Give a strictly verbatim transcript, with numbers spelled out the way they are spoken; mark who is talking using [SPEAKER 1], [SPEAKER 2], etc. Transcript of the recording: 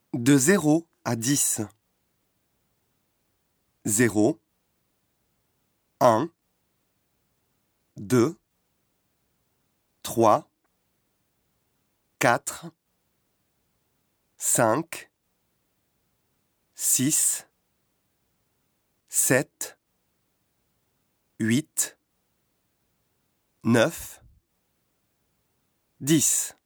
[SPEAKER 1] De zéro à dix. Zéro, un, deux, trois, quatre, cinq, six, sept, huit, neuf, dix.